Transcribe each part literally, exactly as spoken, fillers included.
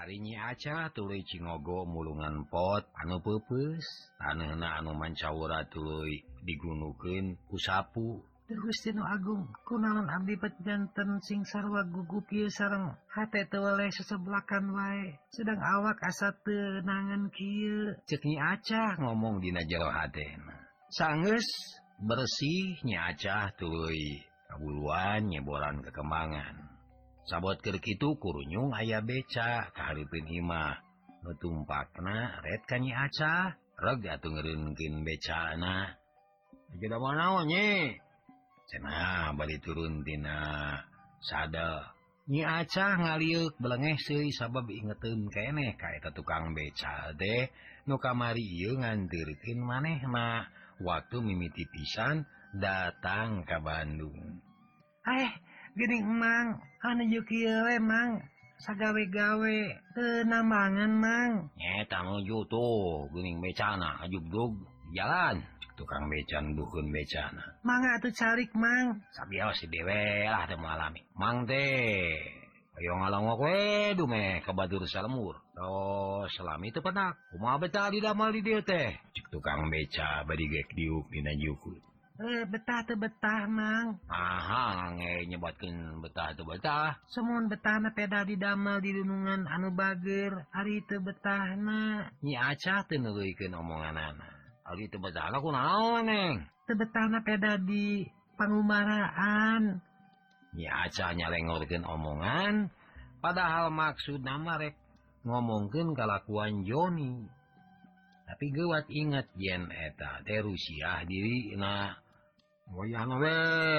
Arinyi aca tuluy Cingogo mulungan pot anu peupeus taneuhna anu mancawura tuluy digunukeun ku sapu. Gusti Nu Agung, kunaon abdi bet janten sing sarwa gugup ieu sareng hate teu weleh seseblakan wae. Sedang awak asa teu nangan kieu. Ceuk Nyi Acah ngomong dina jero hatena. Sanggeus bersih Nyi Acah tuluy kabuluan nyeboran kekembangan. Sabot keur kitu kurunyung aya beca kahareupeun imah. Nu tumpakna ret ka Nyi Acah, reg atuh ngeureunkeun becana. "Aja da manaon, Nyi?" Cenah bari turun tina sadel. Nyi Acah ngaliuk belengeh seuy sabab ingeteun keneh ka eta tukang beca teh nu kamari ieu nganteurkeun manehna waktu mimiti pisan datang ka Bandung. Eh, geuning Mang, anu juk ieu we Mang, sagawe-gawe teu nambangan Mang. Nyeta nuju tuh geuning becana ajug-jug di jalan. Tukang beca nuduhkeun becana. Mangga atuh calik Mang. Sabios si dewe lah teu mengalami. Mang teh ayo ngalongok we dume ka batur salemur. Tos selami teu pedak. Kumaha betah didamel di dieu teh? Cik tukang beca bari gek diuk dina jukut. Eh, betah teu betah Mang. Aha nge nyebatkeun betah teu betah. Semun betahna peda didamel di dunungan anu bager, ari teu betahna. Nyi Acah teu neuleuykeun omonganana. Ari teu betahna kunaon, Neng? Teu betahna peda di pangumaraan. Nyi Acah nyalengorkeun omongan, padahal maksudna mah rek ngomongkeun kalakuan Joni. Tapi geuwat inget yen eta teh Rusiah dirina. Wayahna we,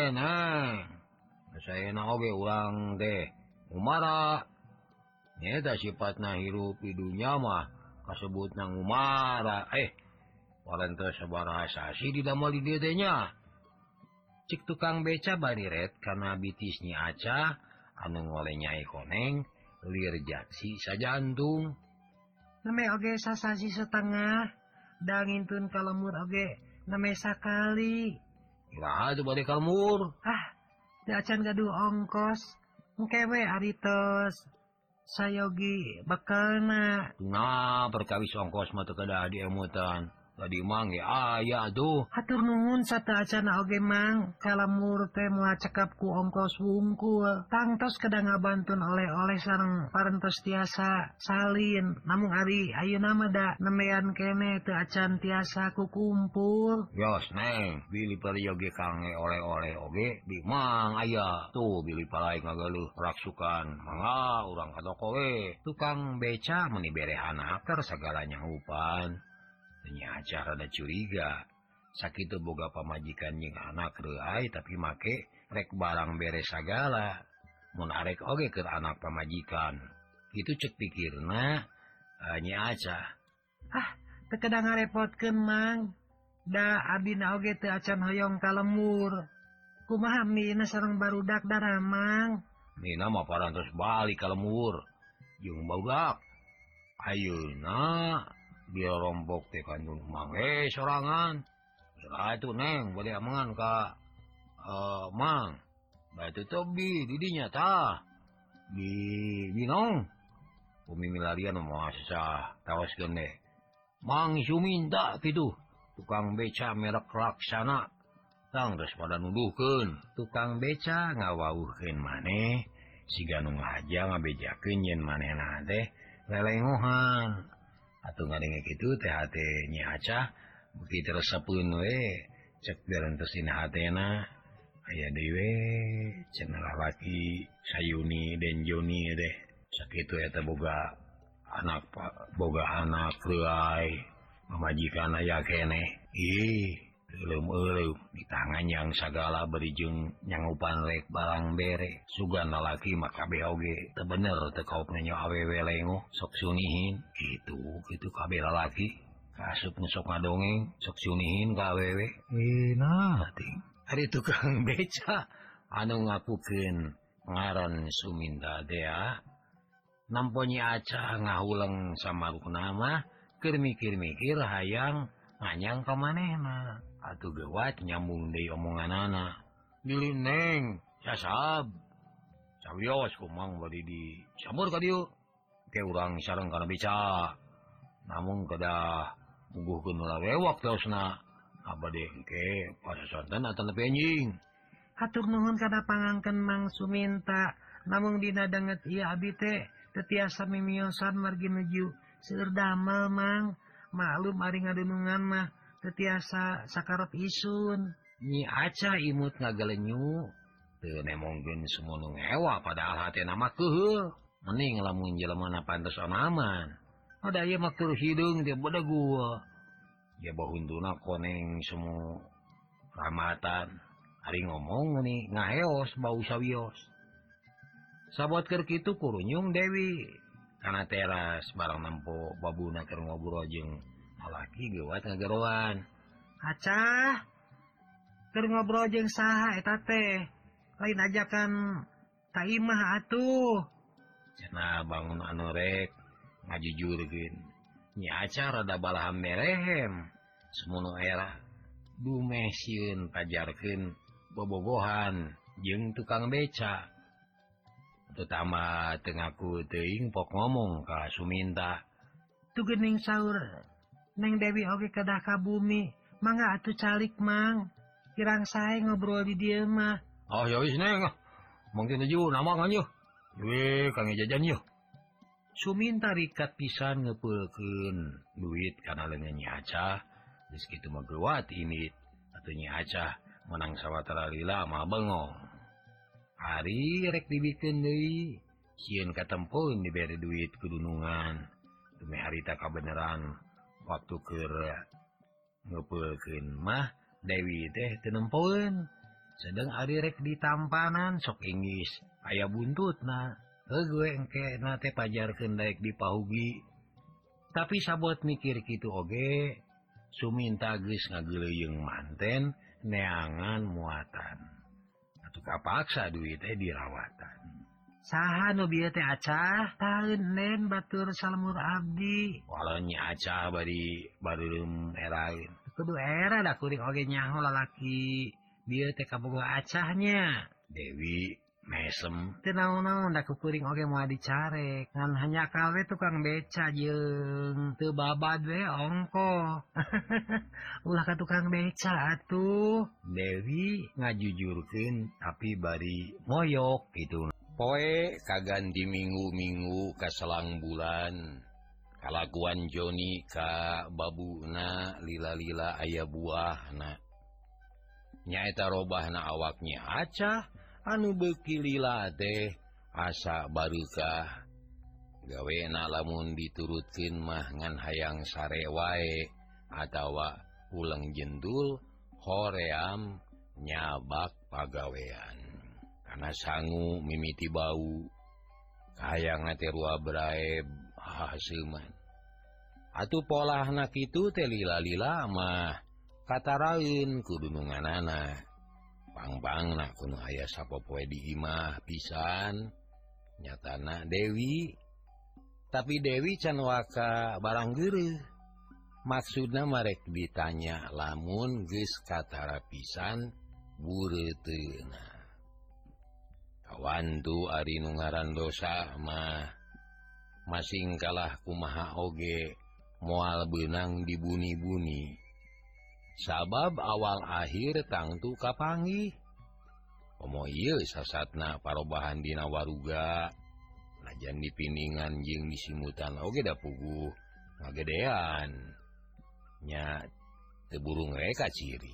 Neng. Saena oge urang teh ngumara. Nyeta sifatna hirup di dunya mah kasebutna ngumara. Eh, parantos sabaraha sasi didamel di dieu teh nya. Cik tukang beca bari ret kana bitis Nyi Acah anu ngole Nyai Koneng lir jaksi sajantung. Name oge sasasi setengah, da ngintun kalemur oge name sakali. Iraha teu bade kalmur. Ah, teu acan gaduh ongkos. Engke we ari tos sayogi bekelna. Nah, perkawis ongkos mah teu kedah diemutan. Tadi Mang ge aya tuh. Hatur nuhun sateu acana oge Mang, kalemur teh moal cekap ku ongkos wungkul. Tangtos kedah ngabantun oleh-oleh sareng parentos tiasa salin. Namun ari ayeuna mah da nemean kene teu acan tiasa kukumpul. Yos Neng, bili parieu ge kange oleh-oleh oge di Mang aya. Tuh bili palai ngageuleuk raksukan. Mangga urang ka toko we. Tukang beca meuni berehanaker sagala nyanggupan. Nyi Acah rada curiga. Sakitu boga pamajikan jeung anak reuay tapi make rek barang beres sagala. Mun arek oge keur anak pamajikan. Kitu ceuk pikirna uh, Nyi Acah. Ah, teu kedah ngarepotkeun Mang. Da abdina oge teu acan hoyong kalemur. Kumaha mina sareng barudak dara Mang? Mina mah parantos balik kalemur jeung barudak. Ayeuna dia rombok teh kan Mang eh sorangan. Salah itu Neng bade amangan ka uh, Mang. Da itu tobi di dinya tah. Di binong. Bumi milarian mah sasah tawaskeun deh. Mang isu minta kitu. Tukang beca merek Laksana. Tang terus pada nuduhkeun. Tukang beca ngawauhkeun maneh siga nu ngahaja ngabejakeun yen manehna teh lelengohan. Atuh ngadenge kitu teh hate Nyi Acah beuki teresepeun we cek berentos dina hatena aya deui we cenah lalaki Sayuni dan Joni teh sakitu eta boga anak boga anak reuay pamajikan aya keneh. Ih euleum-euleum di tangan yang sagala beri jeung nyanggupan rek barang bere. Sugan lalaki mah kabeh oge teu bener teu kaopna nyawa awewe lengo sok sunihin kitu kitu kabeh lalaki kasup sok ngadongeng sok sunihin ka awewe. Eh nah ting ari tukang beca anu ngakukeun ngaran Suminda Dea nampo Nyi Acah ngahuleng samarukna mah keur mikir-mikir hayang nganyang ka manehna. Atuh geuwat nyambung deui omonganana. Bilih Neng, sasab. Sawios ku Mang bari di samur ka dieu. ke urang sareng kana beca. Namun kedah muguhkeun ulah wewak teosna. Abade engke pasasanten atan nepi anjing. Hatur nuhun kana pangangken Mang Suminta. Namun dina danget ieu abdi teh teu tiasa mimiosan margi nuju seueur damel Mang. Maklum ari ngadunungan mah teu tiasa sakarep isun. Nyi Aca imut ngagalenyu teu nemongkeun sumunu ngewa padahal hatena mah keuheul. Mending lamun jelemana pantes aman. Ada ieu mah keur hideung teh beda gua. Ya bahuntuna koneng semu ramatan. Ari ngomong nih ngaeos bau sawios. Sabot keur kitu kurunyung Dewi kana teras barang nempo babuna keur ngobrol jeung lalaki geuwat ngageroan. Acah, keur ngobrol jeung saha eta teh? Lain ajakan ka imah atuh. Cenah bangun anu rek ngajujurkeun. Nyi Aca rada balaham merehem. Semono era dumeh sieun pajarkeun bobogohan jeung tukang beca. Terutama teu ngaku teuing pok ngomong ka Suminta. Tu geuning saur Neng Dewi oge kedah ka bumi. Mangga atuh calik Mang. Kirang sae ngobrol di dieu mah. Oh ya wis Neng. Mungkin tuju nama kan yeuh. We kang jajan yeuh. Suminta rikat pisan ngeupeulkeun duit kana leungeun Nyi Aca. Geus kitu mah geuwat imit. Atuh Nyi Aca menang sawatara lila mah bengong. Hari rek dibikeun deui. Sieun katempoeun dibere duit kudunungan. Demi harita kabeneran waktu keur ngeupeulkeun mah Dewi teh teu nempoeun. Sedeng ari rek ditampanan sok inggis aya buntutna. Heuh engke na teh pajarkeun daek dipahugi. Tapi sabot mikir kitu oge, Suminta geus ngageuleuyeng manten neangan muatan. Atuh kapaksa duit teh dirawatan. Saha nu bieu teh Acah? Taeun nen batur salemur abdi. Walau Nyi Aca bari bareureum eraeun. Kudu era da kuring oge nyaho lalaki. Bieu teh kaboga Acahnya. Dewi mesem. Teu naon-naon da kuring oge moal dicarek. Ngan hanya kawe tukang beca jeung teu babad we ongko. Ulah ka tukang beca atuh. Dewi ngajujurkeun tapi bari moyok gitu. Poe kaganti minggu-minggu ka selang bulan. Kalakuan Joni ka babuna lila-lila aya buahna. Nyaeta robahna awak Nyi Aca anu beuki lila teh asa barukah. Gawena lamun diturutkeun mah ngan hayang sare wae atawa ulang jendul hoream nyabak pagawean. Kana sangu mimiti bau hayang teh rua brae haseuman. Atuh polahna kitu teh lila-lila mah kataraeun kudununganana. Pang-pangna kudu aya sapopoe di imah pisan nyatana Dewi. Tapi Dewi can waka barang geureuh. Maksudna marek ditanya lamun geus katara pisan bureuteuna. Kawan tu ari nu ngaran dosa mah masing kalah kumaha oge moal beunang dibuni-buni. Sabab awal akhir tangtu kapanggih. Komo ieu sasatna parobahan dina waruga. Najan dipindingan jeung disimutan oge da puguh ngagedean. Nya teu burung reka ciri.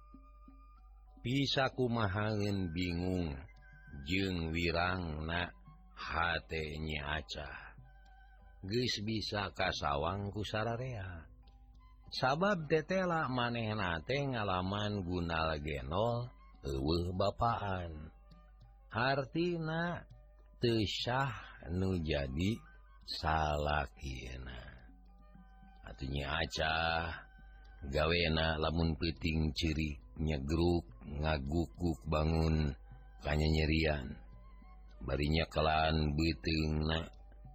Bisa kumahaeun bingung jeung wirangna hate Nyi Aca. Geus bisa kasawang ku sararea. Sabab tetela manehna teh ngalaman gunal genol eueuh bapaan. Hartina teu syah nu jadi salakina. Atuh Nyi Aca gawena lamun peuting ciri nyegruk ngaguk-guk bangun kanyanyerian. Bari nyekelan beuteungna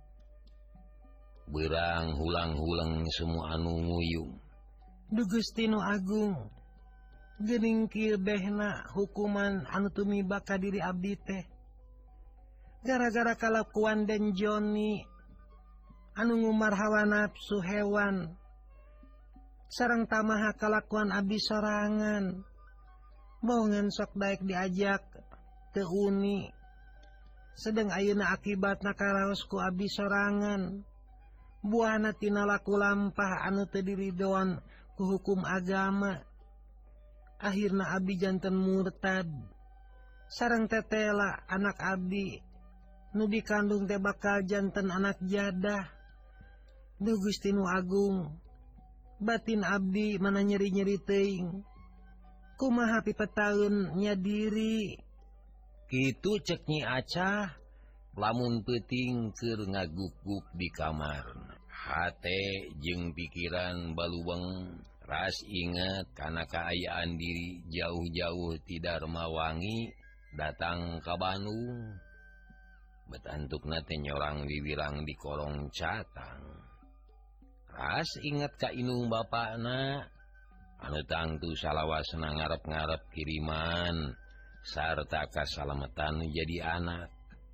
beurang hulang-hulang semua anu nguyung. Duh Gusti nu Agung, geuning kieu behna hukuman anu tumibak ka diri abdi teh. Gara-gara kalakuan Den Joni, anu ngumar hawa nafsu hewan sareng tamaha kalakuan abdi sorangan bohongan sok daek diajak teu uni sedeng ayeuna akibatna karaos ku abdi sorangan buahna tina laku lampah anu teu diridoan ku hukum agama akhirna abdi janten murtad sareng tetela anak abdi nu dikandung teh bakal janten anak jadah. Duh Gusti nu agung batin abdi mana nyeri-nyeri teuing kumaha pipetaeun nya diri kitu cek Nyi Acah lamun peuting keur ngaguk-guk di kamar hate jeung pikiran baluweng ras inget kana kaayaan diri jauh-jauh ti Darmawangi datang ka Bandung betantukna teh nyorang wiwirang di kolong catang ras inget ka inung bapakna anu tangtu salawasna ngarep-ngarep kiriman sarta kasalametan jadi anak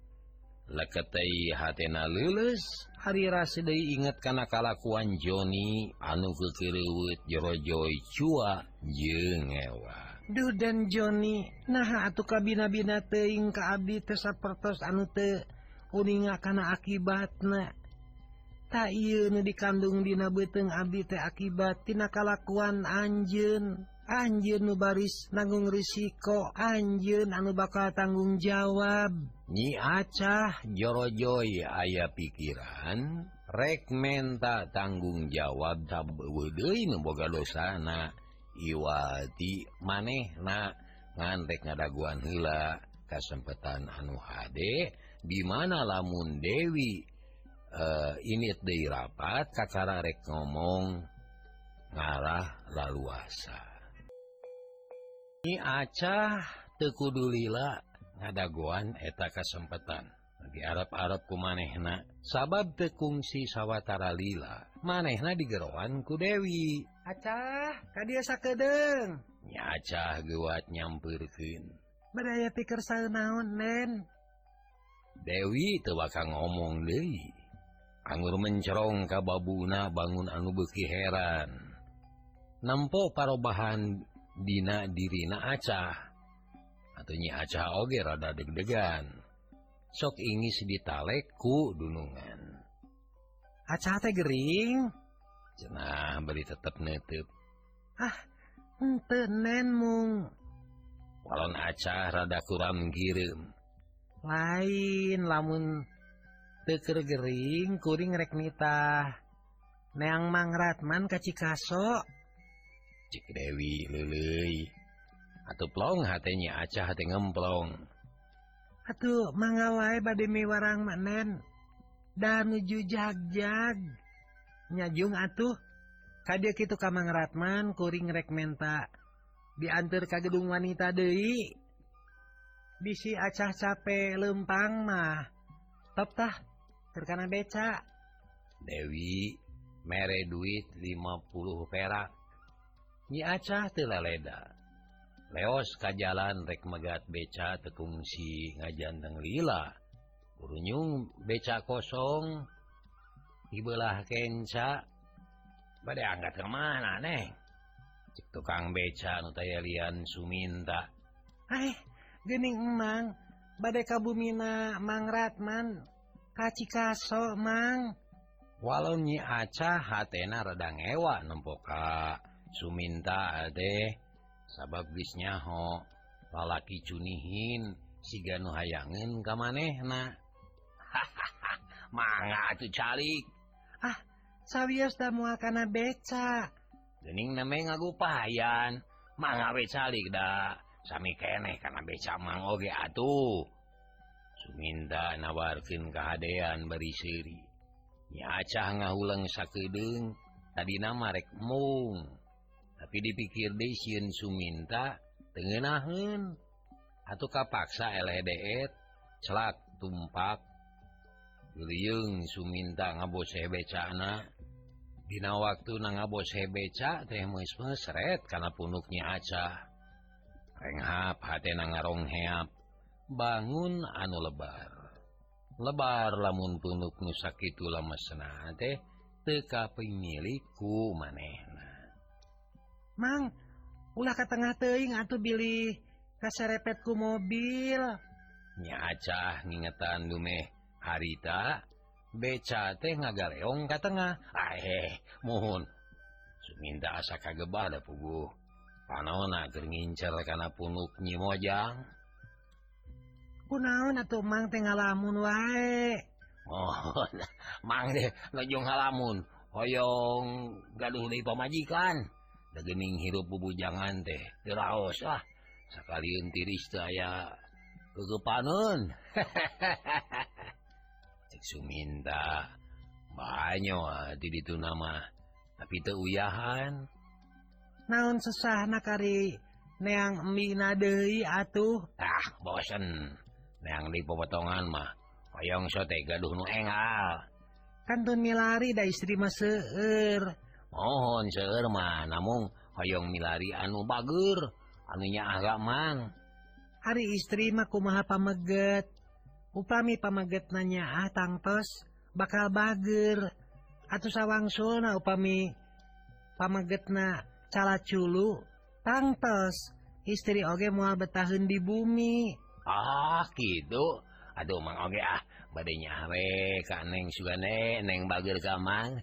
leketei hatena leuleus hari ras deui inget kana kalakuan Joni anu keukeureut jorojoy cua jeung ewa. Duh dan Joni naha atuh kabina-bina teuing ka abdi teh sapertos anu teu uninga kana akibatna ta ieu nu dikandung dina beuteung abdi teh akibat tina kalakuan anjeun anjeun nu baris nanggung risiko anjeun anu bakal tanggung jawab. Nyi Acah jorojoy aya pikiran rek menta tanggung jawab sabeueuh deui nu boga dosana iwati manehna ngan rek ngadaguan heula kasempetan anu hade di mana lamun Dewi uh, init deui rapat kakara rek ngomong ngarah laluasa. Nyi Acah teu kudu lila ngadaguan eta kasempetan diarep-arep ku manehna sabab teu kungsi sawatara lila manehna digerowan ku Dewi. Acah kadia sakedeung. Nyi Acah geuwat nyampeurkeun Badaya pikir saeunaon Nen. Dewi teu bakal ngomong deui anggur mencerong ka babuna bangun anu beuki heran nempo parobahan dina dirina Acah atuh Nyi Acah oge rada deg-degan sok ingis ditalek ku dunungan. Acah teh gering cenah bari tetep neuteub. Ah henteu Nen mung walon Acah rada kuram gireum lain lamun teu keur gering kuring rek nitah neang Mang Ratman ka Cikaso cik Dewi leuleuy atuh plong hate Nyi Acah teh ngemplong. Atuh mangga wae bade miwarang mak Nen da nuju jagjag nyajung atuh kadia kitu ka Mang Ratman kuring rek menta dianteur ka gedung wanita deui bisi Acah cape leumpang mah top tah keur kana beca. Dewi mere duit lima puluh perak. Nyi Acah teu laleda leos ka jalan rek megat beca teu kungsi ngajanteng lila burunyung beca kosong di belah kenca bade angkat ke mana neng cik tukang beca nu taya lian Suminta. Eh geuning emang bade ka bumina Mang Ratman ka Cikaso Mang. Walau Nyi Acah hatena rada ngewa nempo ka Suminta ade sabab geus nyaho lalaki cunihin siga nu hayangeun ka manehna. Hahaha mangga atuh calik. Ah sawios da moal kana beca Geuning neme ngagupayan mangga we calik da sami keneh kana beca mang oge atuh. Suminta nawarkeun kahadean bari seuri. Nyi Acah ngahuleng sakedeung tadina mah rek mung tapi dipikir deui sieun Suminta teu ngeunaheun atuh kapaksa eleh deet celak tumpak geulieung Suminta ngaboseh becana. Dina waktuna ngaboseh beca teh meus mesret kana punduk Nyi Acah renghap hatena ngarongheap bangun anu lebar lebar lamun punuk nu sakitu lamesna teh teu kapingiliku manehna. Mang, ulah ka tengah teuing atuh bilih kaserepet ku mobil. Nya acah ngingetan dumeh harita beca teh ngagaleong ka tengah. Ah heh, muhun. Suminta asa kagebah da puguh. Panaona keur ngincer kana punuk Nyi Mojang. Kunaon atuh Mang teh ngalamun wae. Mohon, mang deh ngejung halamun. Hoyong gaduh deui pamajikan. Da geuning hirup bubujangan teh teu raos ah. Sakalieun tiris teu aya keugepaneun. Cek Suminta banyo di ditu nama tapi teu uyahan. Naon susahna kari neang emina deui atuh. Ah, bosen. Neang di popotongan mah hoyong sote gaduh nu engal. Kantun milari da istri mah seueur. Mohon seueur mah namung hoyong milari anu bager, anu nyaah gak mang. Ari istri mah kumaha pameget. Upami pamegetna nyaah tangtos bakal bager. Atuh sawangsulna upami pamegetna calaculu tangtos istri oge moal betaheun di bumi. Ah, gitu. Aduh mang oge ah bade nyaah we ka Neng Sugane, Neng bager ka mang.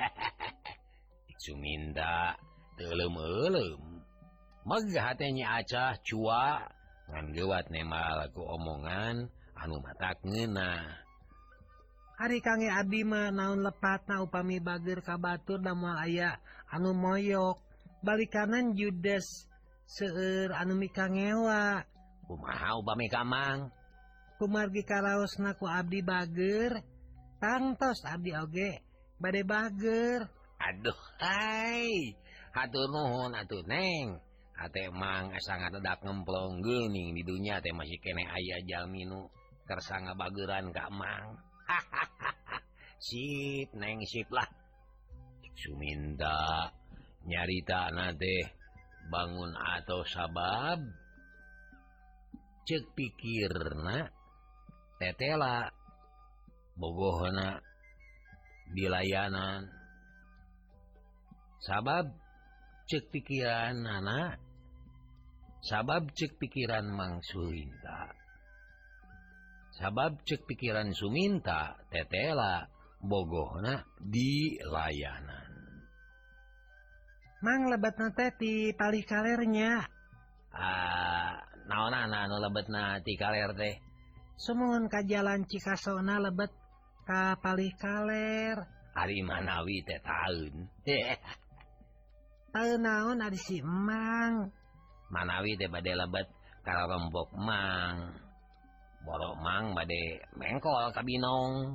Suminta teu leum-eulem. Megah teh nya acah cua ngan geuwat nemal ku omongan anu matak ngeunah. Ari kange abdi mah naon lepatna upami bager ka batur da moal aya anu moyok. Balikanan judes seueur anu mikangewa. Kumaha upami ka mang? Kumargi karaosna ku abdi bager, tangtos abdi oge bade bager. Aduh, hai. Hatur nuhun atuh Neng. Ate mang asa ngadedak ngemplong geuning di dunya teh masih kene aya jalmi nu kersa ngabageran ka mang. Sip Neng, sip lah. Suminta nyaritana teh bangun atau sabab cek pikirna tetela bogohna dilayanan. Sabab cek pikiran anak, sabab cek pikiran Mang Suminta, sabab cek pikiran Suminta tetela bogohna di layanan. Mang lebetna teh ti palih kalernya. Ah, naonana anu lebetna ti kaler teh? Sumuhun ka jalan Cikasona lebet ka palih kaler. Ari manawi teh taeun. Teu naon ari si Emang. Manawi teh bade lebet ka rombok Mang. Borok Mang bade mengkol ka binong.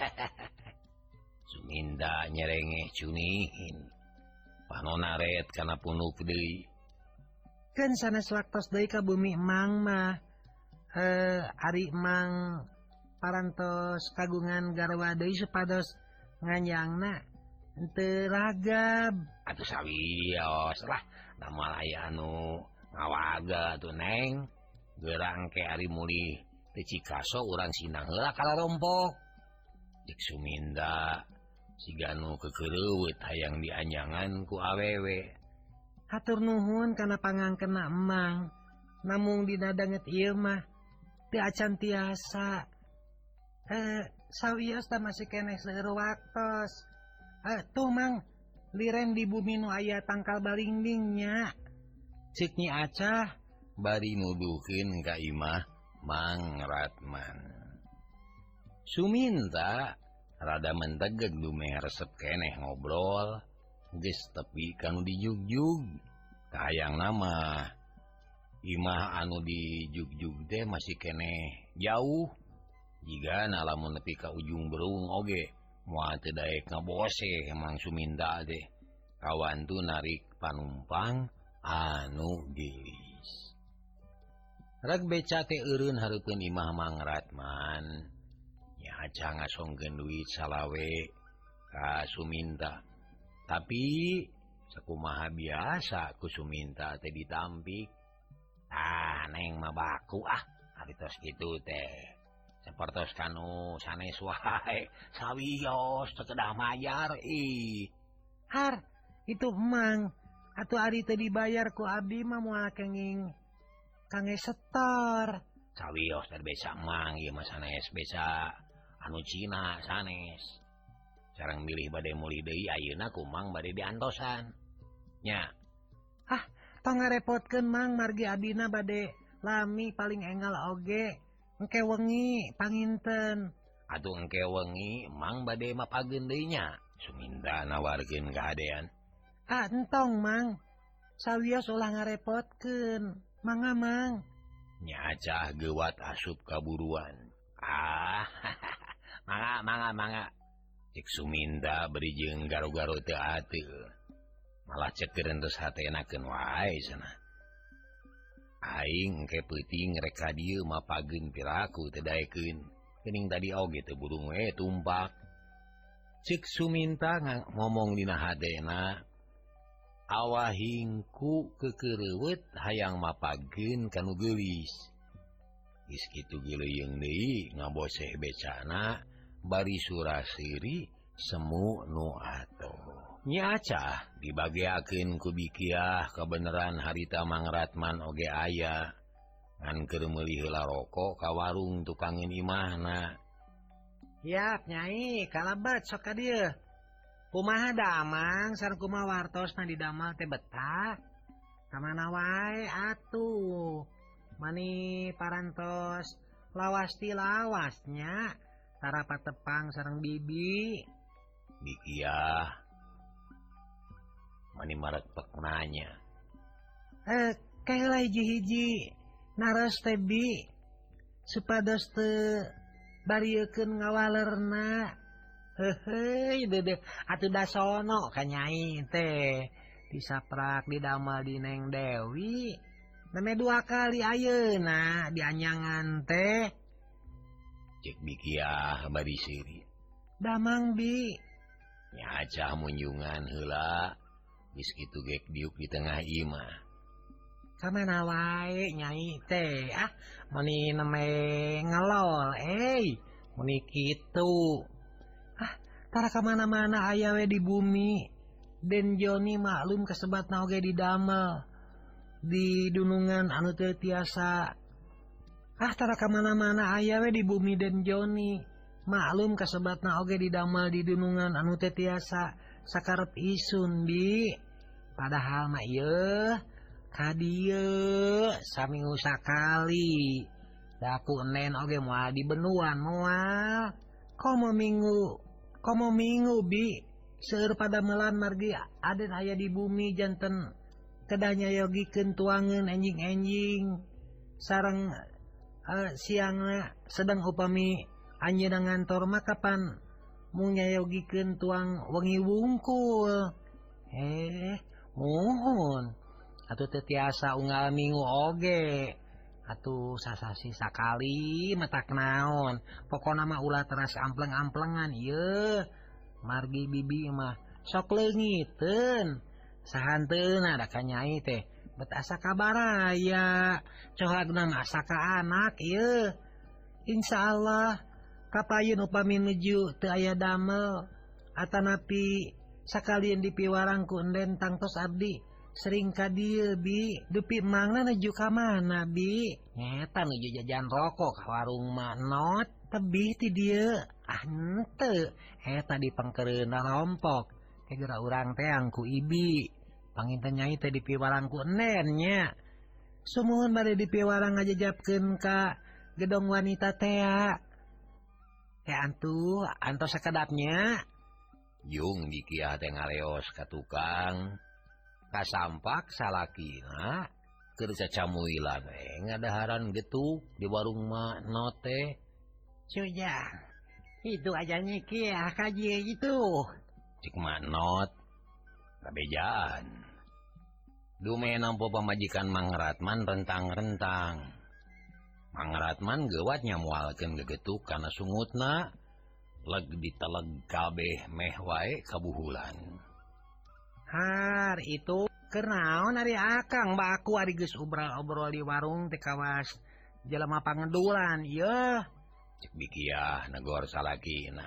Suminda nyerengeh cunihin. Panona ret kana punuk deui. Keun sanes waktos deui ka bumi Emang mah. Eh ari Emang parantos kagungan garwa deui supados nganyangna henteu ragab. Atuh sawios lah, damal aya anu ngawaga tuh Neng. Geurang ke ari muli teu Cikaso urang sinang heula ka Larompok. Cek Suminda siga nu kekeureuweut hayang dianjangan ku awewe. Hatur nuhun kana pangangkenna Emang. Namung dina danget ieu mah teu acan tiasa. Eh sawios da masih keneh seueur waktos. Eh tuh Mang, liren di bumi nu aya tangkal balingdingnya. Cek Nyi Acah bari nuduhkeun ka imah Mang Ratman. Suminta rada mentegeg dumeh resep keneh ngobrol, geus tepi kanu dijugjug. Kahayang nama imah anu dijugjug teh masih keneh jauh. Jiga lamun nepi ka ujung berung oge moal teu daek ngabose Mang Suminta teh. Kawan tu narik panumpang anu gelis. Reg beca teh eureun hareupeun imah Mang Ratman. Nya Acah ngasongkeun duit salawe ka Suminta. Tapi sakumaha biasa ku Suminta teh ditampik. Ah Neng mah baku ah, ari tos kitu teh. sapertos kanu sanes wae sawios teu kedah mayar ih. Har, itu emang atuh ari teu dibayar ku abdi mah moal kenging kangge setor. Sawios teh besa mang ieu mah sanes besa anu Cina sanes. Sareng milih bade meuli deui ayeuna ku mang bade diantosan. Nya. Ah, tong ngarepotkeun mang margi abdina bade lami paling enggal oge. Engke wengi panginten. Atuh engke wengi mang bade mapageun deui nya. Suminda nawarkeun kahadean. Ah, entong mang. Sawios ulah ngarepotkeun. Mangga mang. Nya acah gewat asup kaburuan. Ah, mangga mangga mangga. Cek Suminda beri jeung garo-garo teu ateu. Malah cekeun terus hatenakeun wae cenah. Aing engke peuting rek ka dieu mapageun piraku teu daekeun. Geuning tadi oge teu burung we tumpak. Cek Suminta ngomong dina hatena, awahingku kekereuweut hayang mapageun kanu geulis. Geus kitu geuleung deui ngaboseh becana bari surasiri semu nu atoh. Nya acah dibageakeun ku bikiah kabeneran harita Mang Ratman oge aya. Ngan keur meuli heula rokok ka warung tukangeun imahna. Yap, Nyai, kalabat sok ka dieu. Kumaha damang sareng kumaha wartosna didamel teh betah. Kamana wae atuh. Mani parantos lawas ti lawasnya. Tara patepang sareng bibi. Bikiah mani marekpek nanya. Eh, kaela hiji-hiji naros teh bi. Supados teu bariekeun ngawalerna. Heuheuy dedeh atuh da sono ka Nyai teh. Disaprak didamel di Neng Dewi. Neme dua kali ayeuna dianyangan teh. Cek bikiah bari seuri. Damang bi. Nya acah munjungan heula. Geus kitu gek diuk di tengah imah. Kamana wae Nyai teh. Ah, meni neme ngelol eh. Meni kitu. Ah, tara kamana-mana aya we di bumi. Den Joni maklum kasebatna oge didamel. Di dunungan anu teu tiasa. Ah, tara kamana-mana aya we di bumi Den Joni. Maklum kasebatna oge didamel di dunungan anu teu tiasa sakarep isun bi. Padahal mah ieu ka dieu saminggu sakali. Da aku enen oge moal di benuan moal. Komo minggu, komo minggu bi. Seueur padamelan margi aden aya di bumi janten kedah nyayogikeun tuangeun enjing-enjing. Sareng uh, siangna sedang upami anjeunna ngantor mah kapan mung nyayogikeun tuang wengi wungkul. Eh, muhun. Atuh teu tiasa unggal minggu oge. Atuh sasasi sakali matak naon. Pokona mah ulah teras ampleng-amplengan ieu. Margi bibi mah sok leungiteun. Sahanteuna da ka Nyai teh bet asa kabaraya. Cohagna mah asa ka anak ieu. Insyaallah kapayeun upami nuju teu aya damel atanapi sakalian dipiwarang ku enden tangtos abdi sering ka dieu bi. Dupi mangna nuju ka mana bi? Nyeta nuju jajan rokok ka warung Manot. Tebih ti dieu. Ah henteu. Eta di pangkeureunna rompok. Kegera urang teh angku ibi. Panginten Nyai teh dipiwarang ku enden nya. Sumuhun bade dipiwarang ngajajabkeun ka gedong wanita teh. Teh antu, antos sakedapnya. Yung dikiah teh ngaleos ka tukang. Kasampak salakina keur cacamuilan we ngadaharan getuk di warung Manot teh. Cujang, itu aja nyikiah kaji itu. Cik Manot, kabejaan. Dume nampo pamajikan Mang Ratman rentang-rentang. Mang Ratman gewat nyamualkeun gegetuk kana sungutna. Leg diteleg kabeh meh wae kabuhulan. Har, itu kenaon ari akang baku ari geus obrol-obrol di warung teh kawas jelema pangedulan. Yeuh, Cek bikiah negor salakina.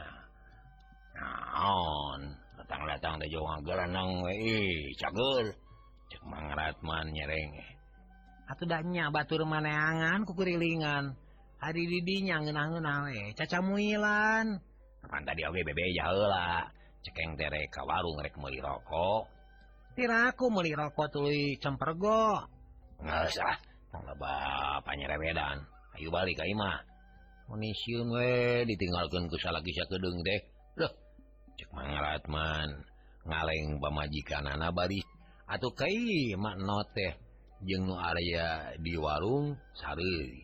Naon, datang-datang teh jong geranang we, cagel. Cek Mang Ratman nyereng. Atuh da nya batur maneangan ku kurilingan. Hari didinya ngeunah-ngeunah we, cacamuilan. Kapan tadi oge bebe heula. Cekeng tere ka warung rek meuli rokok. Tiraku meuli rokok tuluy cempergo. Nggak usah, tangga bapak nyerewedan. Ayo balik ka imah. Munisiun we ditinggalkeun ku salaki sakedeung teh. Loh, cek Mang Ratman ngaleng pamajikanana bari atuh kai mak not teh jeung nu area di warung sareui.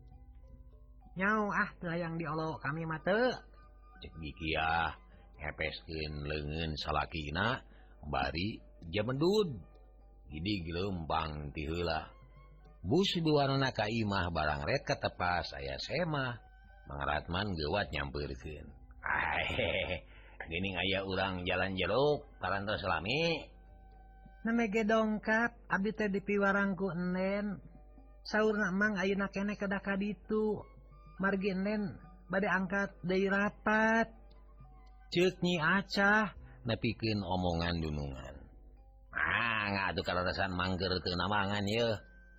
Nyau ah teu hayang diolo kami mah teu. Cek bikiah ngepeskeun leungeun salakina bari jamendud. Gidi gelempang ti heula. Bus duanana ka imah barang red katepas aya semah. Mang Ratman geuwat nyampeurkeun. Ah, geuning aya urang jalan jeruk parantos lami. Namege dongkap abdi teh dipiwarang ku Enen. Saurna Mang ayeuna keneh kedah ka ditu. Margi Enen bade angkat deui rapat. Ceuk Nyi Acah nepikeun omongan dunungan. Ah, ngadu kararasan mangger teu nambangan ye.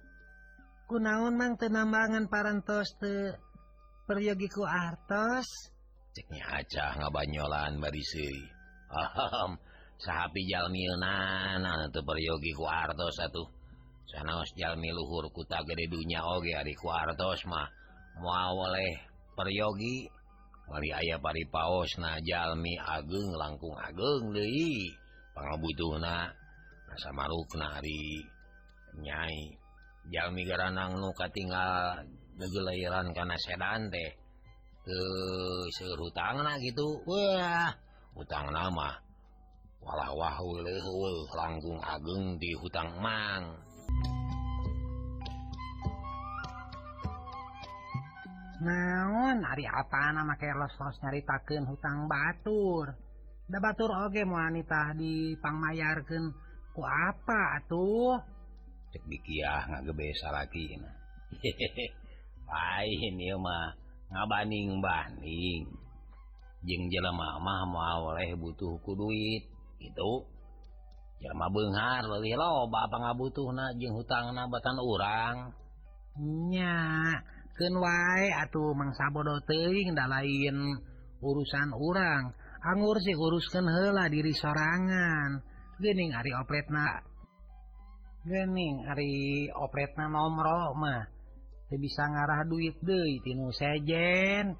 Kunaon Mang teu nambangan parantos teu peryogi ku artos? Cek Nyi Acah ngabanyolan bari seui. Ahem, sahapi jalmieuna anu teu peryogi ku artos atuh. Sanaos jalmi luhur kuta gede dunya oge ari ku artos mah moal oleh peryogi. Wali aya paripaosna jalmi ageung langkung ageung deui pangabutuhna. Asa marukna ari Nyai jalmi garanang nu katinggal degelairan kana sedan teh teu seueur hutangna gitu. Wah, hutangna mah walah-wah weuleuh heueuh langkung ageung di hutang Mang. Naon ari apana make los-los nyaritakeun hutang batur. Da batur oge moal nitah dipangmayarkeun ku apa atuh? Cek bikiah ngagebe salakina. Lain ieu mah ngabanding-banding. Jeung jelema mah moal oleh butuh ku duit gitu. Jelema beunghar leuwih loba pangabutuhna jeung hutangna batan urang. Nya, keun wae atuh Mang Sabodo teuing da lain urusan urang. Anggur sih uruskeun heula diri sorangan. Geuning ari opretna Geuning ari opretna nomro mah teu bisa ngarah duit deui tinu sejen.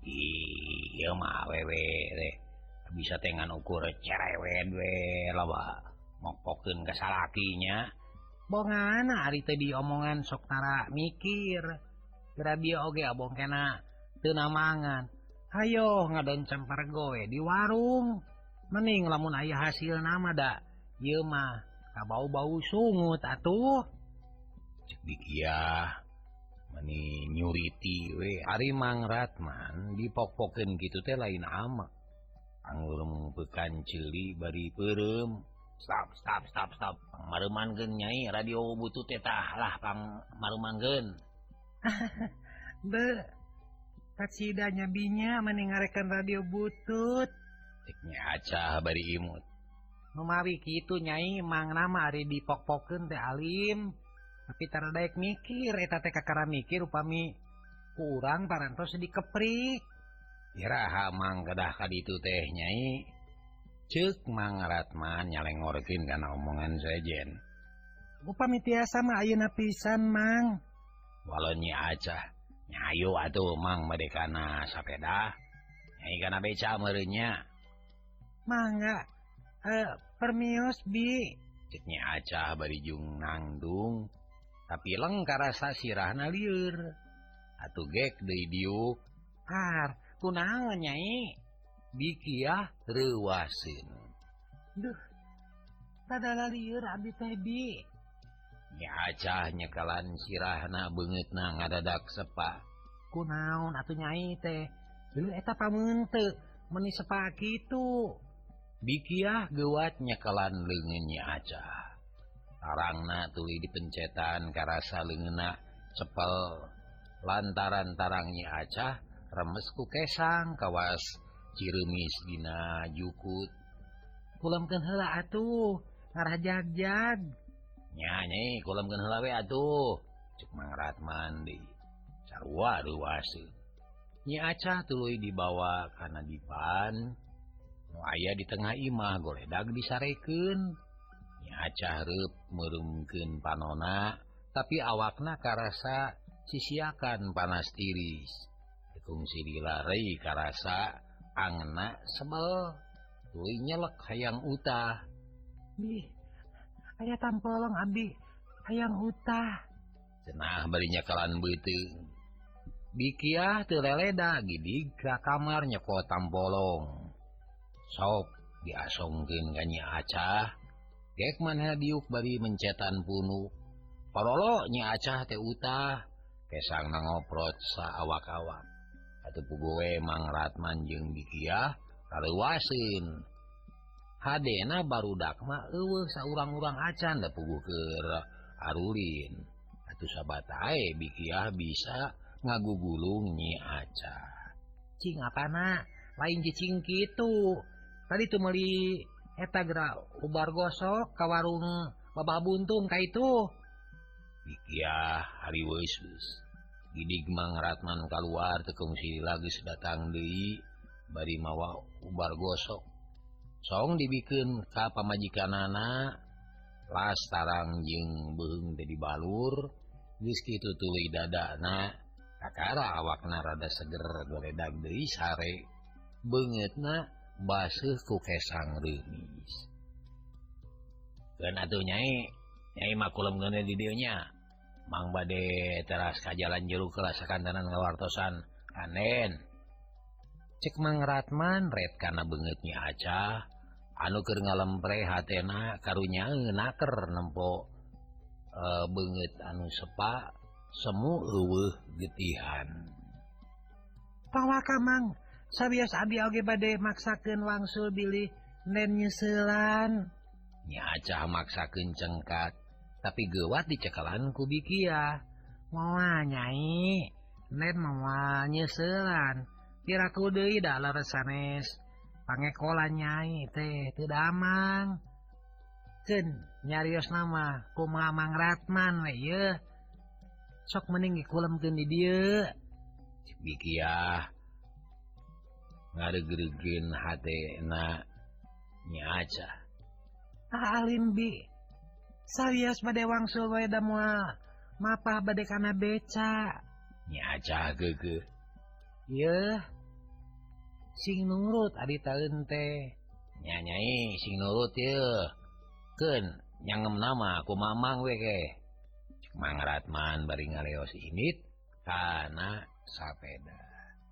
Ieu mah awewe teh bisa teh ngan ukur cerewet we loba mokpokeun ka salakinya. Bongana ari teh diomongan sok tara mikir. Kira dia oge abong kena teu namangan. Hayo ngadon cempergo we di warung. Mending lamun aya hasilna mah da ieu mah kabau-bau sungut atuh. Cek bikiah mani nyuriti we ari Mang Ratman dipok-pokeun kitu teh lain ama. Anggur meupekan ceuli bari peureum. Stop, stop, stop, stop. Pangmareumankeun Nyai radio butut teh tah lah pangmareumankeun. Be, katsida nyabinya mending ngarekan radio butut. Cek Nyi Acah bari imut. Numawi kitu Nyai Mang nama ari dipok-pokeun teh alim. Tapi tara daek mikir eta teh kakara mikir upami kurang parantos dikeprik. Iraha Mang kedah ka ditu teh Nyai. Ceuk Mang Ratman nyalengorkeun kana omongan sejen. Upami tiasa mah ayeuna pisan Mang. Walau Nyi Acah nyayo atuh Mang madekana sapeda. Nyai kana beca meureun nya. Mangga. Eh, permios bi. Cek Nyi Acah bari jung nangdung. Tapi leng karasa sirahna lieur. Atuh gek deui diuk. Har, kunaon Nyai? Bikiah reuwaseun. Duh. Padahal lieur abdi teh bi. Nyi Acah nyekelan sirahna beungeutna ngadadak sepa. Kunaon atuh Nyai teh? Dulu eta pameunteuk meni sepa kitu. Bikiah geuwat nyekelan leungeun Nyi Acah. Tarangna tuluy dipencetan karasa leungeunna cepel lantaran tarang Nyi Acah remesku kesang kawas ciremis dina jukut. Kulemkeun heula atuh, ngarah jag-jag. Nya nyai kulemkeun heula we atuh. Cek Mang Ratman deui. Sarua reuwaseun. Nyi Acah tuluy dibawa kana dipan. Nu aya di tengah imah goledag disarekeun. Nyi Acah reup meurungkeun panonna, tapi awakna karasa sisiakan panas tiris. Kungsi dilarei karasa angna sebel. Tuluy nyelek hayang utah. Ih, aya tampolong abdi, hayang utah. Cenah bari nyakalan beuteung. Bikiah teu leleda gidig ka kamar nyeko tampolong. Sok diasongkeun ka Nyi Acah. Gek maneh diuk bari mencetan punuk. Parolo Nyi Acah teh utah. Kesangna ngoprot saawak-awak. Atuh puguh we Mang Ratman jeung Bikiah kaleuwaseun. Hadena barudak mah eueuh saurang-urang acan da puguh keur arulin. Atuh sabatae Bikiah bisa ngagugulung Nyi Acah. Cing apana? Lain cicing kitu. Tadi tuh meuli eta geura ubar gosok ka warung Babah Buntung ka itu. Bikiah hariweus. Gidig Mang Ratman kaluar teu kungsi lagi datang deui bari mawa ubar gosok. Song dibikeun ka pamajikanana las tarang jeung beuheung teh dibalur. Geus kitu tuluy dadana kakara awakna rada seger goledag deui sare. Beungeutna baseuh ku kesang reumis. Keun atuh Nyai, Nyai mah kulemkeun di dieu nya. Mang bade teras ka jalan jeruk heula sakantanan ngawartosan kanen. Cek Mang Ratman ret kana beungeut Nyi Acah anu keur ngalempre hatena karunya ngeunaker nempo e, beungeut anu sepa semu eueuh getihan. Pawaka Mang, sabios abdi oge bade maksakeun wangsul bilih nen nyeuselan. Nyi Acah maksakeun cengkat, tapi geuwat dicekelan ku Bikiah. Moal Nyai, nen moal nyeuselan. Piraku deui da leres sanes pangekolan Nyai teh teu damang. Keun nyariosna mah kumaha Mang Ratman we yeuh. Sok mending dikulemkeun di dieu. Cik Bikiah ngaregreugeun hatena Nyi Acah. Ah alim Bi, sawios bade wangsul wae da moal mapah bade kana beca. Nyi Acah geugeuh. Yeuh, sing nurut adi taeun teh. Nya Nyai sing nurut yeuh. Keun nyangem nama ku Mamang we ke. Cik Mang Ratman bari ngaleos init kana sapeda.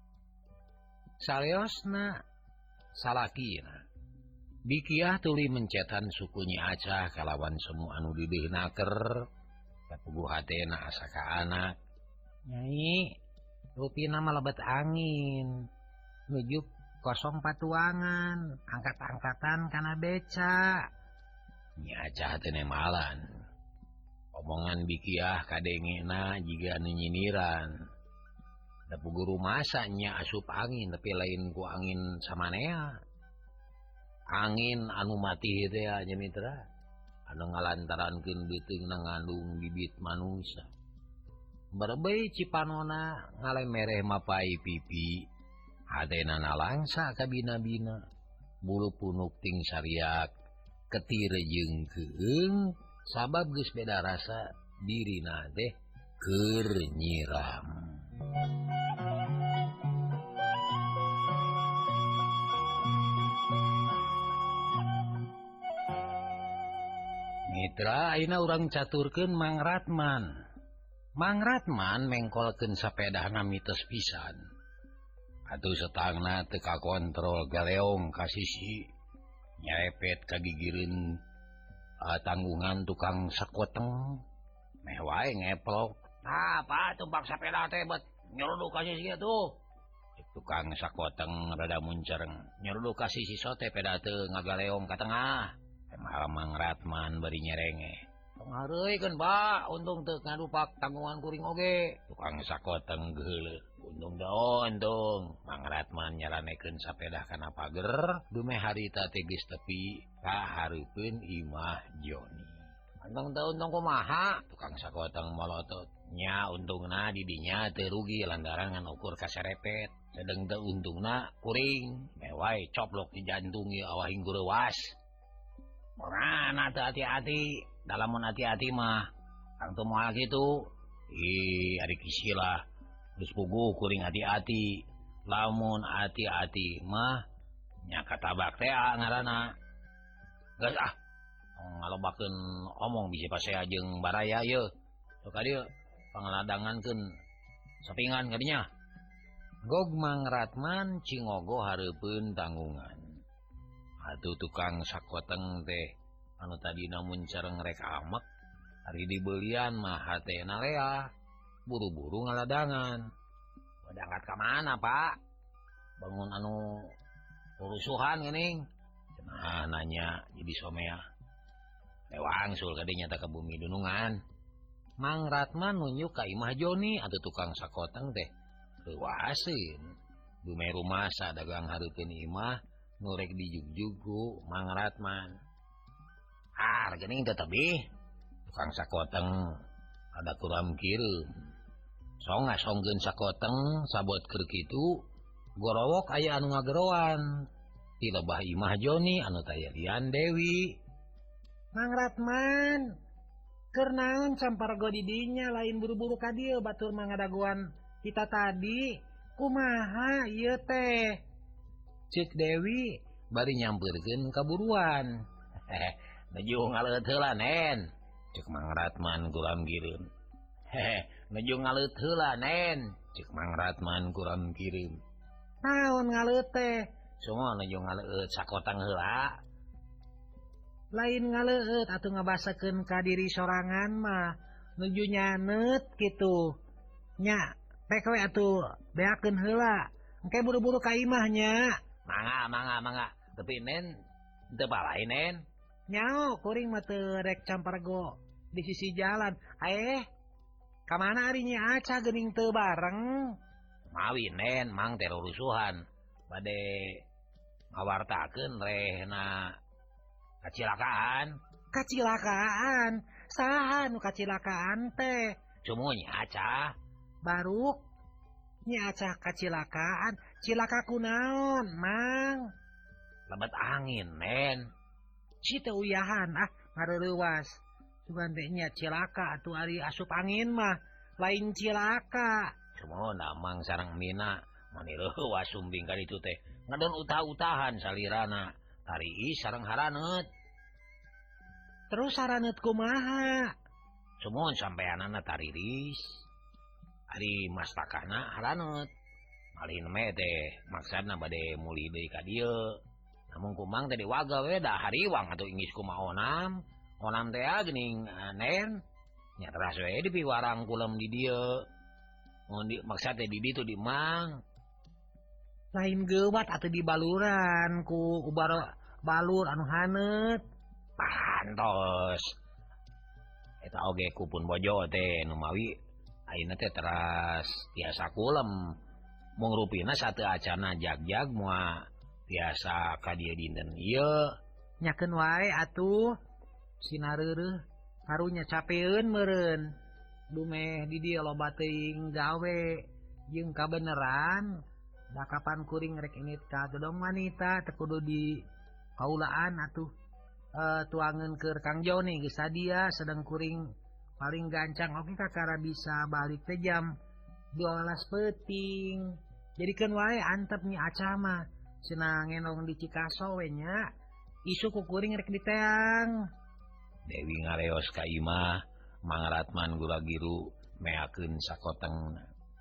Saleosna salakina Bikiah tuluy mencetan suku Nyi Acah kalawan semu anu dideuhnaker. Kapuguh hatena asa ka anak. Nyai, rupina mah lebet angin. Nujuk kosong patuangan, angkat-angkatan kana beca. Nyi Acah teu nemalan. Omongan Bikiah kadengena jiga anu nyiniran. Da puguh rumasa nya asup angin tapi lain ku angin samanea. Angin anu mati teh nya mitra. Anu ngalantarankeun beuteungna ngandung bibit manusia. Berbei cipanona ngalemereh mapai pipi. Hatena nalangsa ka bina-bina. Bulu punuk ting sariak. Ketire jeung keung. Sabab geus beda rasa dirina teh keur nyiram. Mitra ayeuna urang caturkeun Mang Ratman. Mang Ratman mengkolkeun sapedahna mitos pisan. Atuh setangna teu kakontrol galeong ka sisi. Nyarepet ka gigireun uh, tanggungan tukang sakoteng. Meh wae ngeplok. Ah, apa tumpak sapeda teh bet nyeruduk ka sisi atuh. Tukang sakoteng rada muncereng. Nyeruduk ka sisi sote peda teu ngagaleong ka tengah. Malah Mang Ratman bari nyerenge. Tong hareuikeun, Pak, untung teu ngadupak tanggungan kuring oge. Tukang sakoteng geuleuh. Untung daun untung Mang Ratman nyaranekeun sapeda kana pager dume harita teh geus tepi ka hareupeun Imah Joni. Untung daun untung kumaha tukang sakoteng molotot nya untungna di dinya teu rugi lantaran ngan ukur kaserepet. Sedeng teu untungna kuring mewai coplok di jantung ieu awah hinggu reuwas. Morana teu hati-hati, dalamun hati-hati mah kang teu moal kitu. Ih, ari kisilah geus puguh kuring hati-hati. Lamun hati-hati mah nya katabak teh ngaranna. Geus ah, ngalobakeun omong bisi pasea jeung baraya ieu. Sok ka dieu pangladangankeun sapingan ka dinya. Gog Mang Ratman cingogo hareupeun tanggungan. Atuh tukang sakoteng teh anu tadina mun cereng rek amek ari dibelian mah hatena lea buru-buru ngaladangan. Berangkat ka mana, Pak? Bangun anu urusuhan geuning. Cenah nanya jadi somea. Lewangsul ka dinya teh ka bumi dunungan. Mang Ratman nunjuk ka Imah Joni atuh tukang sakoteng teh reuwaseun. Dume rumasa dagang hareupeun imah nurek dijugjug ku Mang Ratman. Ah, geuning teh tebih. Tukang sakoteng ada kuram kireum. Song ngasongkeun sakoteng sabot keur kitu, gorowok aya anu ngagerowan. Ti lebah Imah Joni anu taya lian Dewi. Mang Ratman, keur naon campargo di dinya lain buru-buru ka dieu batur mangadaguan kita tadi. Kumaha ieu teh? Cek Dewi bari nyampeurkeun kaburuan. Hehe, nuju ngaleut heula Nen. Cek Mang Ratman kuram kireum. Hehe, nuju ngaleut heula Nen. Cek Mang Ratman kuram kireum. Naon ngaleut teh? Semua nuju ngaleut sakoteng heula. Lain ngaleut atuh ngabasakeun ka diri sorangan mah nuju nyaneut kitu. Nya, pek we atuh beakeun heula. Engke buru-buru ka imahnya. Mangga, mangga, mangga. Tapi Nen, teu balai Nen. Nyao, kuring mah teu rek campargo di sisi jalan. Eh, kamana ari Nya Aca geuning teu bareng? Mawi Nen, mang teh rusuhan. Bade ngawartakeun rehna kacilakaan. Kacilakaan? Saha nu kacilakaan teh? Cumu Nya Aca. Baru Nya Aca kacilakaan. Cilaka kunaon, Mang? Lebet angin, Nen. Si teu uyahan ah ngareurewas. Cuman teh nya cilaka atuh ari asup angin mah lain cilaka. Cuman Mang sareng Mina mani reuwas sumbing ka ditu teh. Ngadon utah-utahan salirana. Tari sareng haraneut. Terus haraneut kumaha? Cuman sampeanana tariris. Ari mastakana haraneut. Malin me teh maksudna bade muli deui ka dieu. Namun kumang teh diwaga we da hariwang atuh ingis kumaha onam. Onam teh geuning uh, Nen. Nya teras we di piwarang kulem di dieu. Mun di maksud teh di ditu di Mang. Lain geuwat atuh di baluran ku ubar balur anu haneut. Pantos. Eta oge kupun bojo teh nu mawi ayeuna teh teras tiasa kulem. Mung rupina satu acana jag-jag mua biasa ka dieu dinten ieu. Nyakeun wae atuh sinareureuh karunya capeun meureun. Dumeh di dieu loba teuing gawe jeung kabeneran. Da kapan kuring rek init ka gedong wanita teu kudu di kaulaan atuh e, tuangeun keur Kang Joni geus sadia sedang kuring paling gancang oke kakara bisa balik teh jam dua belas peuting. Jadikeun wae antep Nya Aca mah cenah ngenong di Cikaso we nya. Isu ku kuring rek diteang. Dewi ngareos ka imah, Mang Ratman gula giru meakeun sakotengna.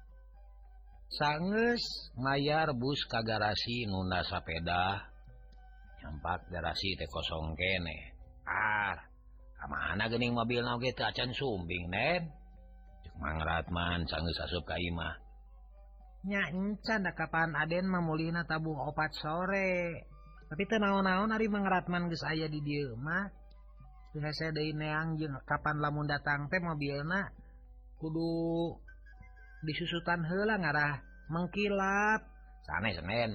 Saeus mayar bus ka garasi nunda sapeda. Nyampak garasi teh kosong kene. Ah, kamana geuning mobilna oge teu acan sumbing, Nen? Cek Mang Ratman saeus asup ka imah. Nya encan da kapan Aden mamulihna tabuh opat sore. Tapi teu naon-naon ari Mang Ratman geus aya di dieu mah. Teu hese deui neang jeung kapan lamun datang teh mobilna kudu disusutan heula ngarah mengkilap. Sanes Nen.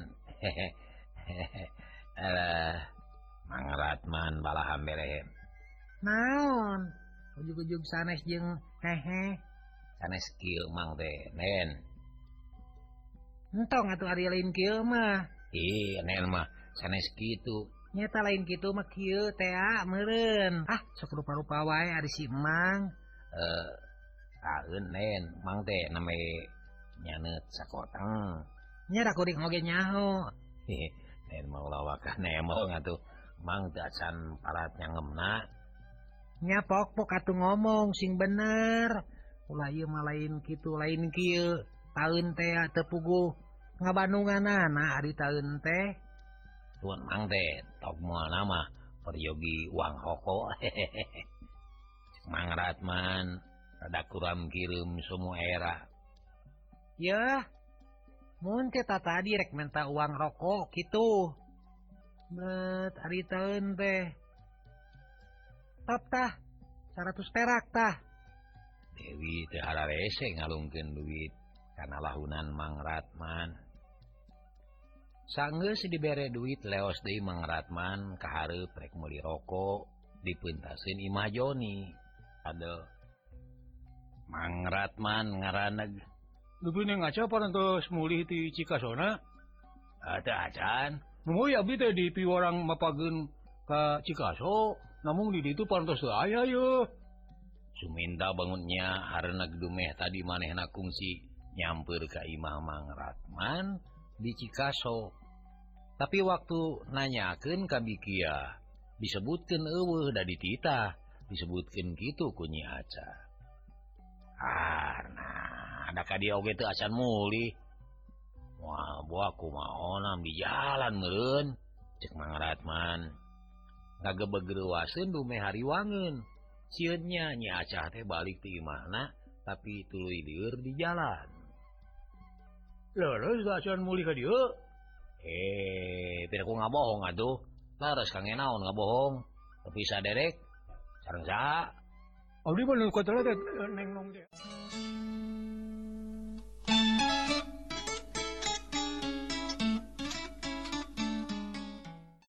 Eh, Mang Ratman balahan berehem. Naon? Ujug-ujug sanes jeung hehe. Sanes kieu Mang teh, Nen. Entong atuh ari lain kieu mah. Ih, Nen mah sanes kitu. Nyata lain kitu mah kieu teh meureun. Ah, sok rupa-rupa wae ari si Mang. Eh, saeun Nen, Mang teh name nyaneut sakoteng. Nya da kuring oge nyaho. Hehe, Nen mau lawakan nemong atuh. Mang teh acan parat nyangemna. Nya pok-pok atuh ngomong sing bener. Ulah ieu mah lain kitu lain kieu. Taeun teh teu puguh ngabandunganana ari taeun teh. Tuan Mang teh tok moal nama peryogi uang hoko. Mang Ratman rada kuram kirim semua era. Yah, mun teh tadi rek minta uang rokok gitu. Bet ari taeun teh. Top tah, seratus perak tah. Dewi teh hararese ngalungkeun duit kana lahunan Mang Ratman. Sanggeus dibere duit leos deui Mang Ratman ka hareup rek meuli rokok dipeuntaseun Imah Joni. Aduh. Mang Ratman ngaraneg. Leuwih ning aca parantos mulih ti Cikasona. Atuh acan. Nuhun abdi teh di piwarang mapageun ka Cikaso, namun di ditu parantos teu aya yeuh. Suminta bangunnya hareuneg dumeh tadi manehna kungsi nyamper ka Imah Mang Ratman di Cikaso. Tapi waktu nanyakeun ka Bikia, disebutkeun eueuh da dititah, disebutkeun kitu ku Nyi Aca. Ah, nah, ada ka dieu oge teu acan mulih. Wah, buah kumaonam di jalan meureun, cek Mang Ratman. Ngagebeg-reuwaseun dumeh hariwangeun. Sieun nya Nyi Aca teh balik ti imahna, tapi tuluy lieur di jalan. Leres da acan mulih ka dieu. Eh, pira ku ngabohong atuh. Laras kangen naon ngabohong. Tapi saderek sareng saha? Abdi mah nu katelet neng nong teh.